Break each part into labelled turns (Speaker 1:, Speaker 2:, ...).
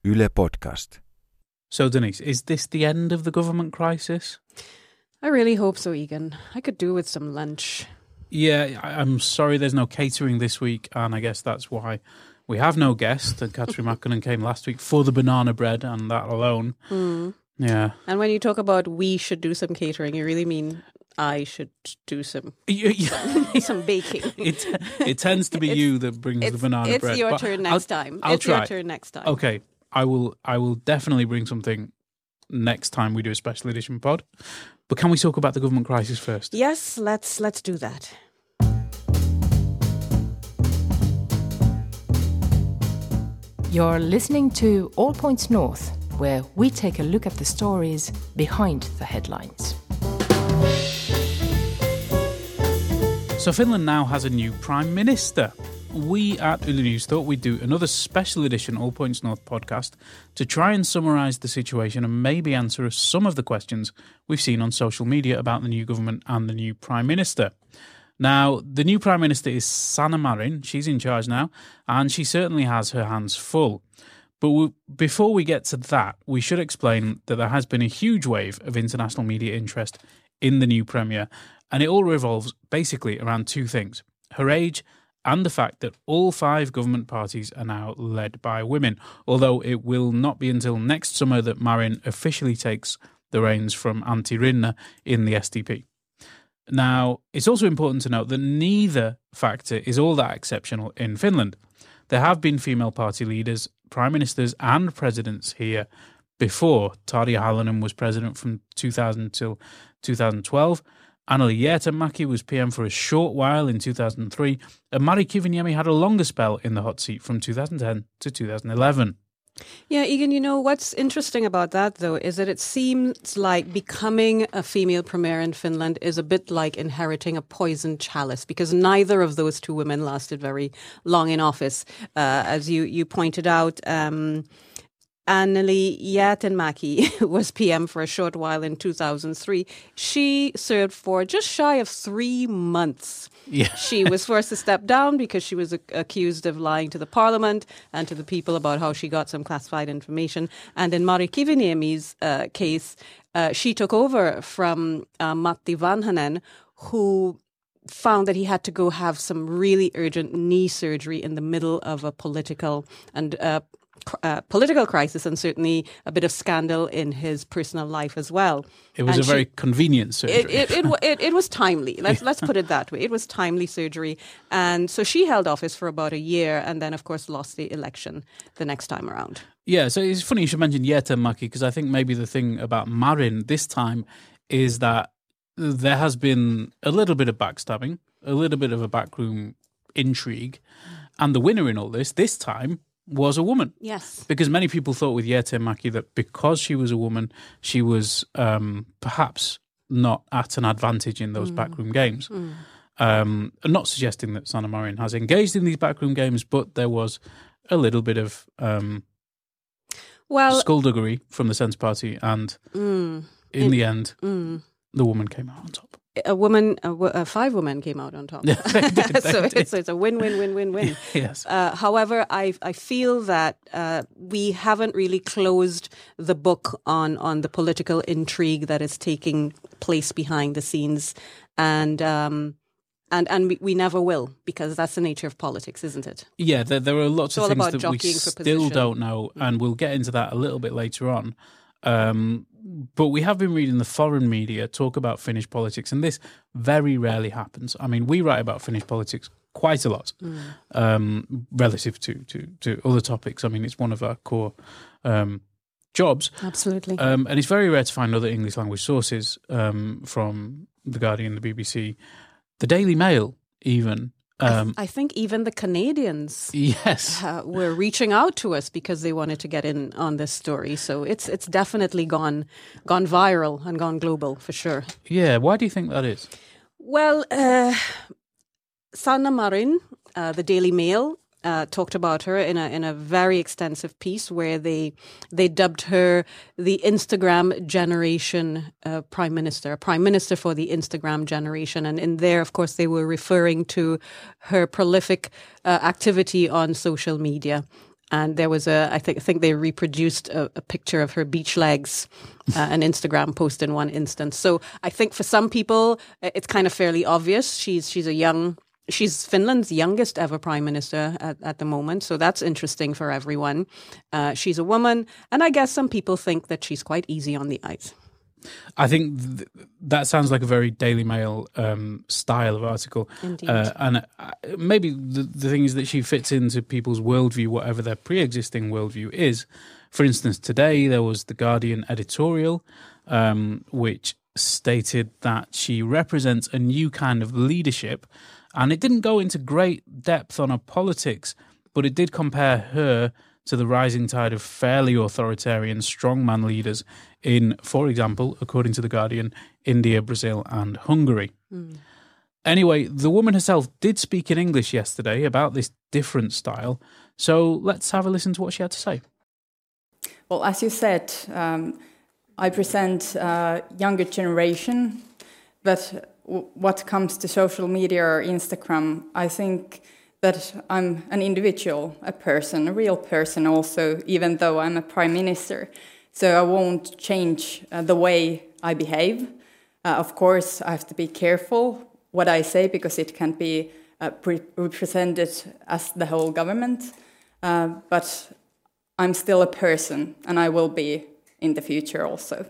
Speaker 1: Yle Podcast.
Speaker 2: So, Denise, is this the end of the government crisis?
Speaker 3: I really hope so, Egan. I could do with some lunch.
Speaker 2: Yeah, I'm sorry there's no catering this week, and I guess that's why we have no guest. And Catherine Mackinnon came last week for the banana bread and that alone. Yeah.
Speaker 3: And when you talk about we should do some catering, you really mean I should do some baking.
Speaker 2: It tends to be you that brings the banana bread.
Speaker 3: It's your turn next time.
Speaker 2: I'll try.
Speaker 3: Your turn next time.
Speaker 2: Okay, I will definitely bring something next time we do a special edition pod. But can we talk about the government crisis first?
Speaker 3: Yes, let's do that.
Speaker 4: You're listening to All Points North, where we take a look at the stories behind the headlines.
Speaker 2: So Finland now has a new Prime Minister. We at Yle News thought we'd do another special edition All Points North podcast to try and summarise the situation and maybe answer some of the questions we've seen on social media about the new government and the new Prime Minister. Now, the new Prime Minister is Sanna Marin. She's in charge now, and she certainly has her hands full. But before we get to that, we should explain that there has been a huge wave of international media interest in the new Premier, and it all revolves basically around two things: her age and the fact that all 5 government parties are now led by women, although it will not be until next summer that Marin officially takes the reins from Antti Rinne in the SDP. Now, it's also important to note that neither factor is all that exceptional in Finland. There have been female party leaders, prime ministers and presidents here before. Tarja Halonen was president from 2000 till 2012. Anneli Jäätteenmäki was PM for a short while in 2003, and Mari Kiviniemi had a longer spell in the hot seat from 2010 to 2011.
Speaker 3: Yeah, Egan, you know, what's interesting about that, though, is that it seems like becoming a female premier in Finland is a bit like inheriting a poisoned chalice, because neither of those two women lasted very long in office. As you pointed out, Anneli Jäätteenmäki was PM for a short while in 2003. She served for just shy of 3 months.
Speaker 2: Yeah.
Speaker 3: She was forced to step down because she was accused of lying to the parliament and to the people about how she got some classified information. And in Mari Kiviniemi's case, she took over from Matti Vanhanen, who found that he had to go have some really urgent knee surgery in the middle of a political crisis, and certainly a bit of scandal in his personal life as well.
Speaker 2: It was very convenient surgery.
Speaker 3: It was timely. Let's put it that way. It was timely surgery, and so she held office for about a year, and then of course lost the election the next time around.
Speaker 2: Yeah, so it's funny you should mention Jäätteenmäki, because I think maybe the thing about Marin this time is that there has been a little bit of backstabbing, a little bit of a backroom intrigue, and the winner in all this time was a woman.
Speaker 3: Yes.
Speaker 2: Because many people thought with Jäätteenmäki that because she was a woman, she was perhaps not at an advantage in those backroom games. I'm not suggesting that Sanna Marin has engaged in these backroom games, but there was a little bit of skullduggery from the Sense Party, and in the end, the woman came out on top.
Speaker 3: 5 women came out on top. So it's a win.
Speaker 2: Yes.
Speaker 3: However, I feel that we haven't really closed the book on the political intrigue that is taking place behind the scenes, and we never will, because that's the nature of politics, isn't it?
Speaker 2: Yeah, there are lots of things that we still don't know, and we'll get into that a little bit later on. But we have been reading the foreign media talk about Finnish politics, and this very rarely happens. I mean, we write about Finnish politics quite a lot relative to other topics. I mean, it's one of our core jobs.
Speaker 3: Absolutely.
Speaker 2: And it's very rare to find other English language sources from The Guardian, the BBC, the Daily Mail even.
Speaker 3: I think even the Canadians were reaching out to us because they wanted to get in on this story. So it's definitely gone viral and gone global for sure.
Speaker 2: Yeah, why do you think that is?
Speaker 3: Well, Sanna Marin, the Daily Mail, talked about her in a very extensive piece where they dubbed her the Instagram generation prime minister for the Instagram generation. And in there, of course, they were referring to her prolific activity on social media. And there was I think they reproduced a picture of her beach legs, an Instagram post in one instance. So I think for some people, it's kind of fairly obvious. She's Finland's youngest ever prime minister at the moment. So that's interesting for everyone. She's a woman. And I guess some people think that she's quite easy on the eyes.
Speaker 2: I think that sounds like a very Daily Mail style of article.
Speaker 3: Indeed.
Speaker 2: And maybe the thing is that she fits into people's worldview, whatever their pre-existing worldview is. For instance, today there was the Guardian editorial, which stated that she represents a new kind of leadership. And it didn't go into great depth on her politics, but it did compare her to the rising tide of fairly authoritarian strongman leaders in, for example, according to The Guardian, India, Brazil and Hungary. Anyway, the woman herself did speak in English yesterday about this different style, so let's have a listen to what she had to say.
Speaker 1: Well, as you said, I present a younger generation, but what comes to social media or Instagram, I think that I'm an individual, a person, a real person also, even though I'm a prime minister. So I won't change the way I behave. Of course, I have to be careful what I say because it can be represented as the whole government. But I'm still a person, and I will be in the future also.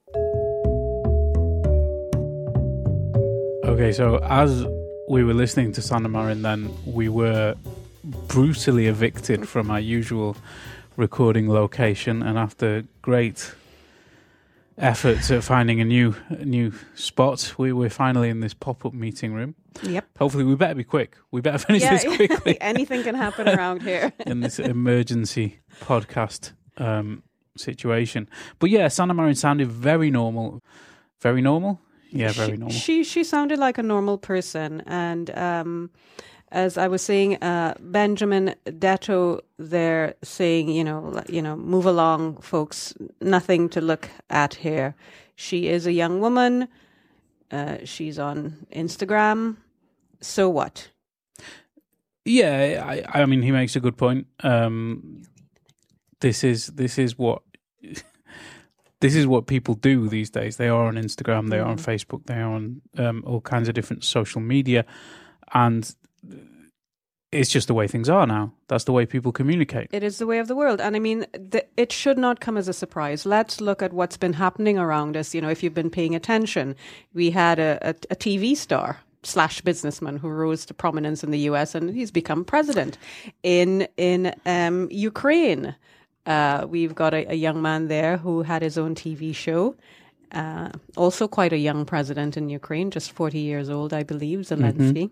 Speaker 2: Okay, so as we were listening to Sanna Marin, then we were brutally evicted from our usual recording location, and after great efforts at finding a new spot, we're finally in this pop-up meeting room.
Speaker 3: Yep.
Speaker 2: Hopefully, we better be quick. We better finish this quickly.
Speaker 3: Anything can happen around here.
Speaker 2: In this emergency podcast situation. But yeah, Sanna Marin sounded very normal. Very normal? Yeah, very normal.
Speaker 3: She sounded like a normal person, and as I was saying, Benjamin Detto there saying, you know, move along, folks. Nothing to look at here. She is a young woman. She's on Instagram. So what?
Speaker 2: Yeah, I mean, he makes a good point. This is what people do these days. They are on Instagram, they are on Facebook, they are on all kinds of different social media, and it's just the way things are now. That's the way people communicate.
Speaker 3: It is the way of the world. And I mean, it should not come as a surprise. Let's look at what's been happening around us. You know, if you've been paying attention, we had a TV star / businessman who rose to prominence in the US, and he's become president. In Ukraine, we've got a young man there who had his own TV show. Also quite a young president in Ukraine, just 40 years old, I believe, Zelensky.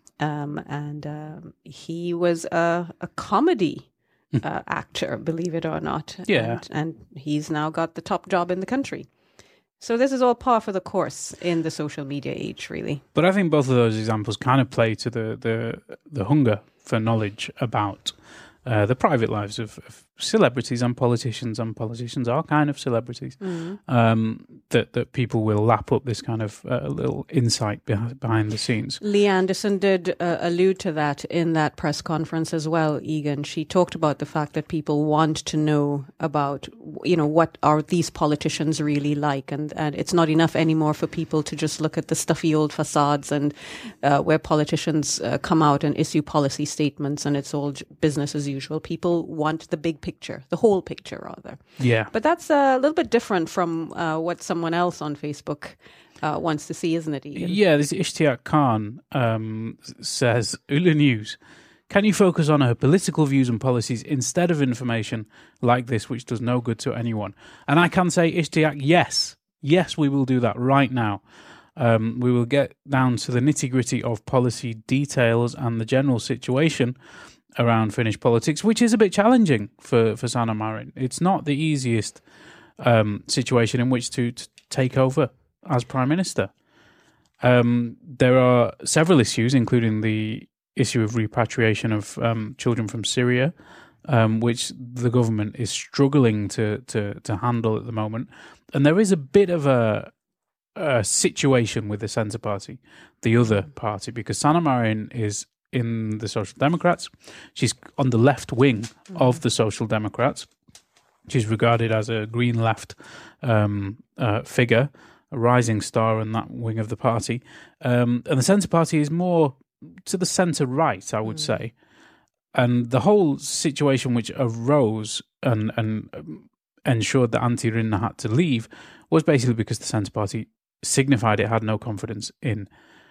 Speaker 3: He was a comedy actor, believe it or not.
Speaker 2: Yeah.
Speaker 3: And he's now got the top job in the country. So this is all par for the course in the social media age, really.
Speaker 2: But I think both of those examples kind of play to the hunger for knowledge about the private lives of celebrities and politicians are kind of celebrities. That people will lap up this kind of little insight behind the scenes.
Speaker 3: Lee Anderson did allude to that in that press conference as well, Egan. She talked about the fact that people want to know about, you know, what are these politicians really like, and it's not enough anymore for people to just look at the stuffy old facades and where politicians come out and issue policy statements and it's all business as usual. People want the big picture, the whole picture rather.
Speaker 2: Yeah.
Speaker 3: But that's a little bit different from what someone else on Facebook wants to see, isn't it, Egan?
Speaker 2: Yeah, this Ishtiaq Khan says, Yle News, can you focus on her political views and policies instead of information like this, which does no good to anyone? And I can say, Ishtiaq, yes. Yes, we will do that right now. We will get down to the nitty-gritty of policy details and the general situation around Finnish politics, which is a bit challenging for Sanna Marin. It's not the easiest situation in which to take over as Prime Minister. There are several issues, including the issue of repatriation of children from Syria, which the government is struggling to handle at the moment. And there is a bit of a situation with the Centre Party, the other party, because Sanna Marin is in the Social Democrats. She's on the left wing of the Social Democrats. She's regarded as a green left figure, a rising star in that wing of the party. And the Centre Party is more to the centre right, I would say. And the whole situation which arose and ensured that Antti Rinne had to leave was basically because the Centre Party signified it had no confidence in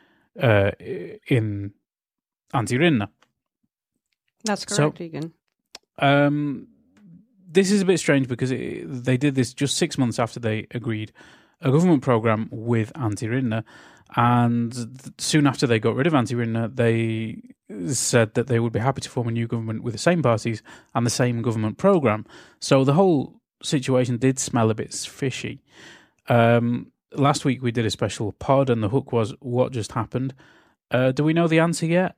Speaker 2: Antti Rinne.
Speaker 3: That's correct, Egan.
Speaker 2: This is a bit strange because they did this just 6 months after they agreed a government programme with Antti Rinne, and soon after they got rid of Antti Rinne, they said that they would be happy to form a new government with the same parties and the same government programme. So the whole situation did smell a bit fishy. Last week we did a special pod and the hook was what just happened. Do we know the answer yet?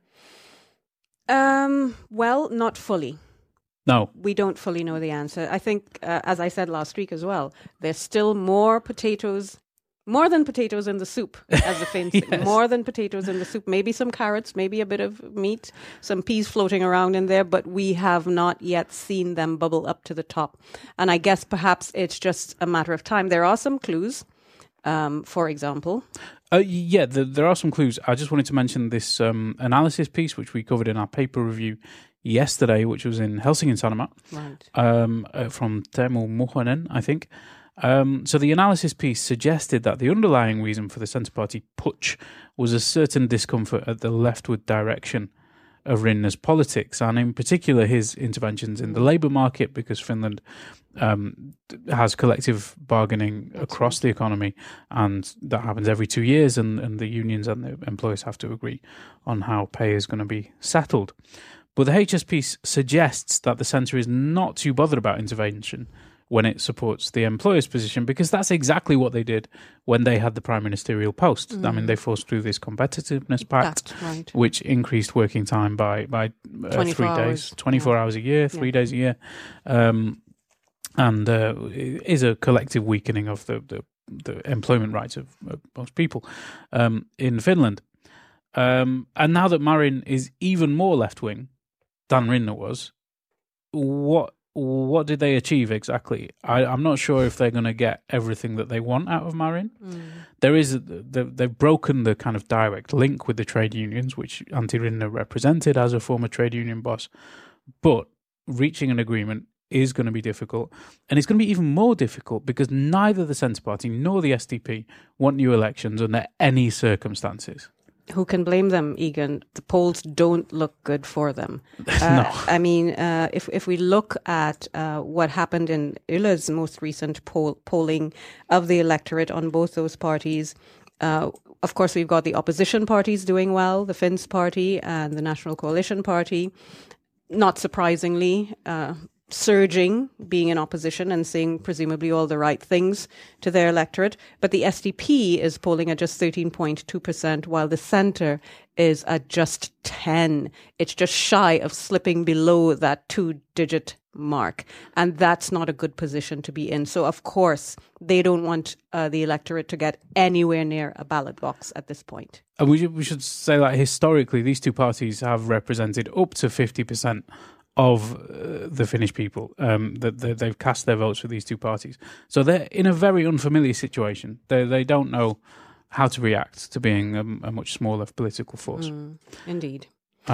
Speaker 3: Well, not fully.
Speaker 2: No.
Speaker 3: We don't fully know the answer. I think, as I said last week as well, there's still more than potatoes in the soup, as the Finns say.
Speaker 2: Yes.
Speaker 3: More than potatoes in the soup. Maybe some carrots, maybe a bit of meat, some peas floating around in there, but we have not yet seen them bubble up to the top. And I guess perhaps it's just a matter of time. There are some clues, for example.
Speaker 2: There are some clues. I just wanted to mention this analysis piece, which we covered in our paper review yesterday, which was in Helsingin Sanomat,
Speaker 3: right.
Speaker 2: from Teemu Muhonen, I think. So the analysis piece suggested that the underlying reason for the Centre Party putsch was a certain discomfort at the leftward direction of Rinne's politics, and in particular his interventions in the labour market, because Finland has collective bargaining across the economy, and that happens every 2 years, and the unions and the employers have to agree on how pay is going to be settled. But the HS piece suggests that the centre is not too bothered about intervention when it supports the employer's position, because that's exactly what they did when they had the prime ministerial post. I mean, they forced through this competitiveness pact,
Speaker 3: right,
Speaker 2: which increased working time by 3 days, 24 hours a year, 3 days a year, and is a collective weakening of the employment rights of most people in Finland. And now that Marin is even more left-wing than Rinne was, what did they achieve exactly? I'm not sure if they're going to get everything that they want out of Marin. They've broken the kind of direct link with the trade unions, which Antti Rinne represented as a former trade union boss. But reaching an agreement is going to be difficult. And it's going to be even more difficult because neither the Centre Party nor the SDP want new elections under any circumstances.
Speaker 3: Who can blame them, Egan? The polls don't look good for them.
Speaker 2: No.
Speaker 3: I mean, if we look at what happened in Yle's most recent polling of the electorate on both those parties, of course, we've got the opposition parties doing well, the Finns Party and the National Coalition Party, not surprisingly, surging, being in opposition and saying presumably all the right things to their electorate. But the SDP is polling at just 13.2%, while the centre is at just 10. It's just shy of slipping below that 2-digit mark. And that's not a good position to be in. So, of course, they don't want the electorate to get anywhere near a ballot box at this point.
Speaker 2: And we should say that historically, these two parties have represented up to 50% of the Finnish people, that they've cast their votes for these two parties. So they're in a very unfamiliar situation. They don't know how to react to being a much smaller political force.
Speaker 3: Indeed.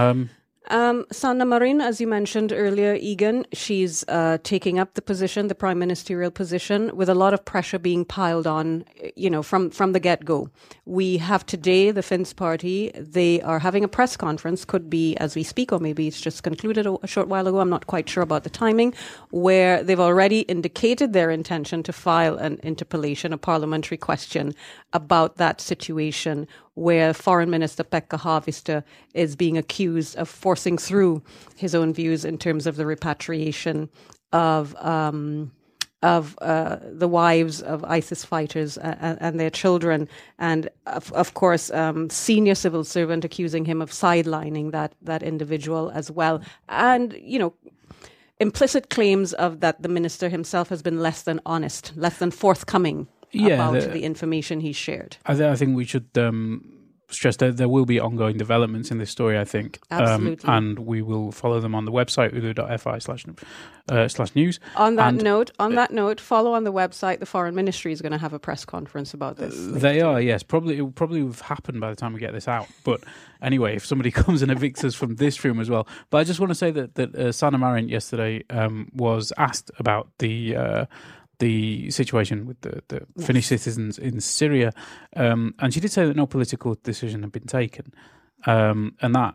Speaker 3: Sanna Marin, as you mentioned earlier, Egan, she's taking up the position, the prime ministerial position, with a lot of pressure being piled on, from the get-go. We have today the Finns Party. They are having a press conference, could be as we speak, or maybe it's just concluded a short while ago. I'm not quite sure about the timing, where they've already indicated their intention to file an interpellation, a parliamentary question about that situation, where Foreign Minister Pekka Haavisto is being accused of forcing through his own views in terms of the repatriation of the wives of ISIS fighters and their children, and of course senior civil servant accusing him of sidelining that individual as well, and implicit claims of that the minister himself has been less than honest, less than forthcoming about the information he shared.
Speaker 2: I think we should stress that there will be ongoing developments in this story, I think.
Speaker 3: Absolutely.
Speaker 2: And we will follow them on the website, ulu.fi/news.
Speaker 3: On that note, follow on the website. The Foreign Ministry is going to have a press conference about this.
Speaker 2: They are, yes. It will probably have happened by the time we get this out. But anyway, if somebody comes and evicts us from this room as well. But I just want to say that Sanna Marin yesterday was asked about the situation with the Finnish citizens in Syria, and she did say that no political decision had been taken, and that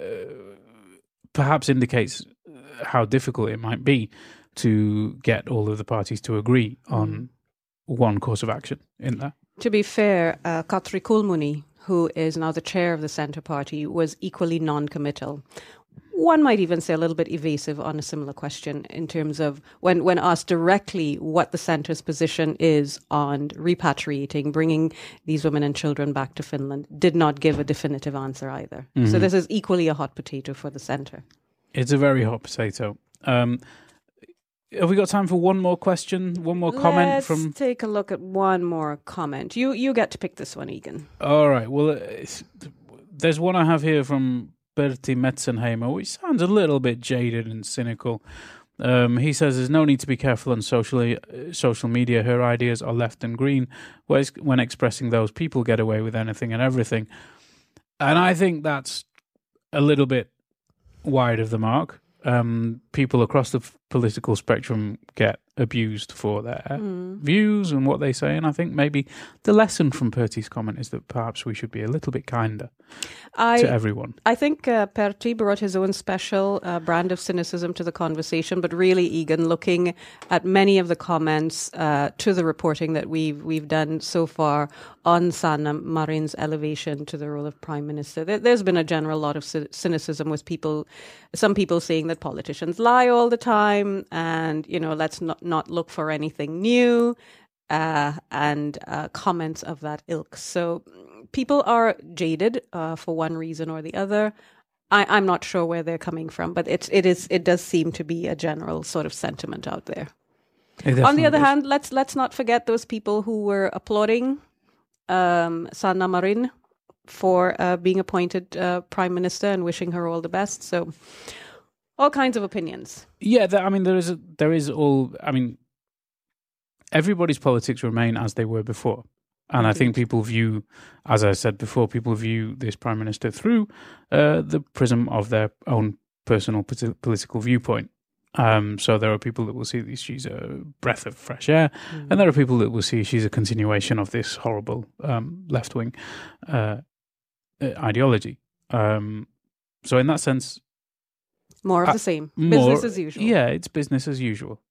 Speaker 2: perhaps indicates how difficult it might be to get all of the parties to agree on one course of action in that.
Speaker 3: To be fair, Katri Kulmuni, who is now the chair of the Centre Party, was equally non-committal. One might even say a little bit evasive on a similar question in terms of when asked directly what the centre's position is on repatriating, bringing these women and children back to Finland, did not give a definitive answer either. So this is equally a hot potato for the centre.
Speaker 2: It's a very hot potato. Have we got time for one more question, one more comment from...
Speaker 3: Let's take a look at one more comment. You get to pick this one, Egan.
Speaker 2: All right. Well, there's one I have here from Berti Metzenheimer, which sounds a little bit jaded and cynical. He says there's no need to be careful on social media. Her ideas are left and green. When expressing those, people get away with anything and everything. And I think that's a little bit wide of the mark. People across the political spectrum get abused for their views and what they say, and I think maybe the lesson from Pertti's comment is that perhaps we should be a little bit kinder to everyone.
Speaker 3: I think Pertti brought his own special brand of cynicism to the conversation, but really, Egan, looking at many of the comments to the reporting that we've done so far on Sanna Marin's elevation to the role of Prime Minister, there's been a general lot of cynicism with some people saying that politicians lie all the time, and let's not look for anything new, and comments of that ilk. So people are jaded for one reason or the other. I'm not sure where they're coming from, but it does seem to be a general sort of sentiment out there. On the other hand, let's not forget those people who were applauding Sanna Marin for being appointed Prime Minister and wishing her all the best. So all kinds of opinions.
Speaker 2: Yeah, there is all. I mean, everybody's politics remain as they were before, and I think people view, as I said before, people view this Prime Minister through the prism of their own personal political viewpoint. So there are people that will see that she's a breath of fresh air, and there are people that will see she's a continuation of this horrible left-wing ideology. So in that sense,
Speaker 3: more of the same. Business as usual.
Speaker 2: Yeah, it's business as usual.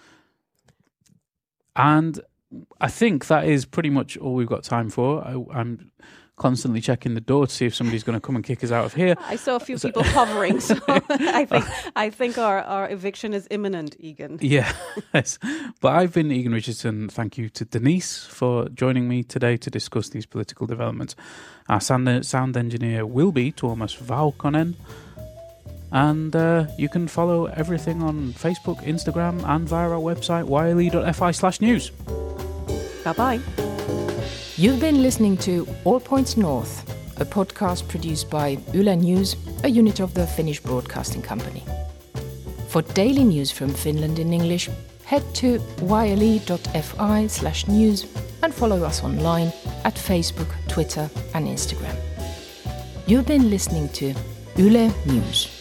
Speaker 2: And I think that is pretty much all we've got time for. I'm constantly checking the door to see if somebody's going to come and kick us out of here.
Speaker 3: I saw a few people hovering, so I think our eviction is imminent, Egan.
Speaker 2: Yeah, yes. But I've been Egan Richardson. Thank you to Denise for joining me today to discuss these political developments. Our sound engineer will be Tuomas Vaukonen. And you can follow everything on Facebook, Instagram, and via our website, yle.fi/news.
Speaker 3: Bye-bye.
Speaker 4: You've been listening to All Points North, a podcast produced by Yle News, a unit of the Finnish Broadcasting Company. For daily news from Finland in English, head to yle.fi/news and follow us online at Facebook, Twitter, and Instagram. You've been listening to Yle News.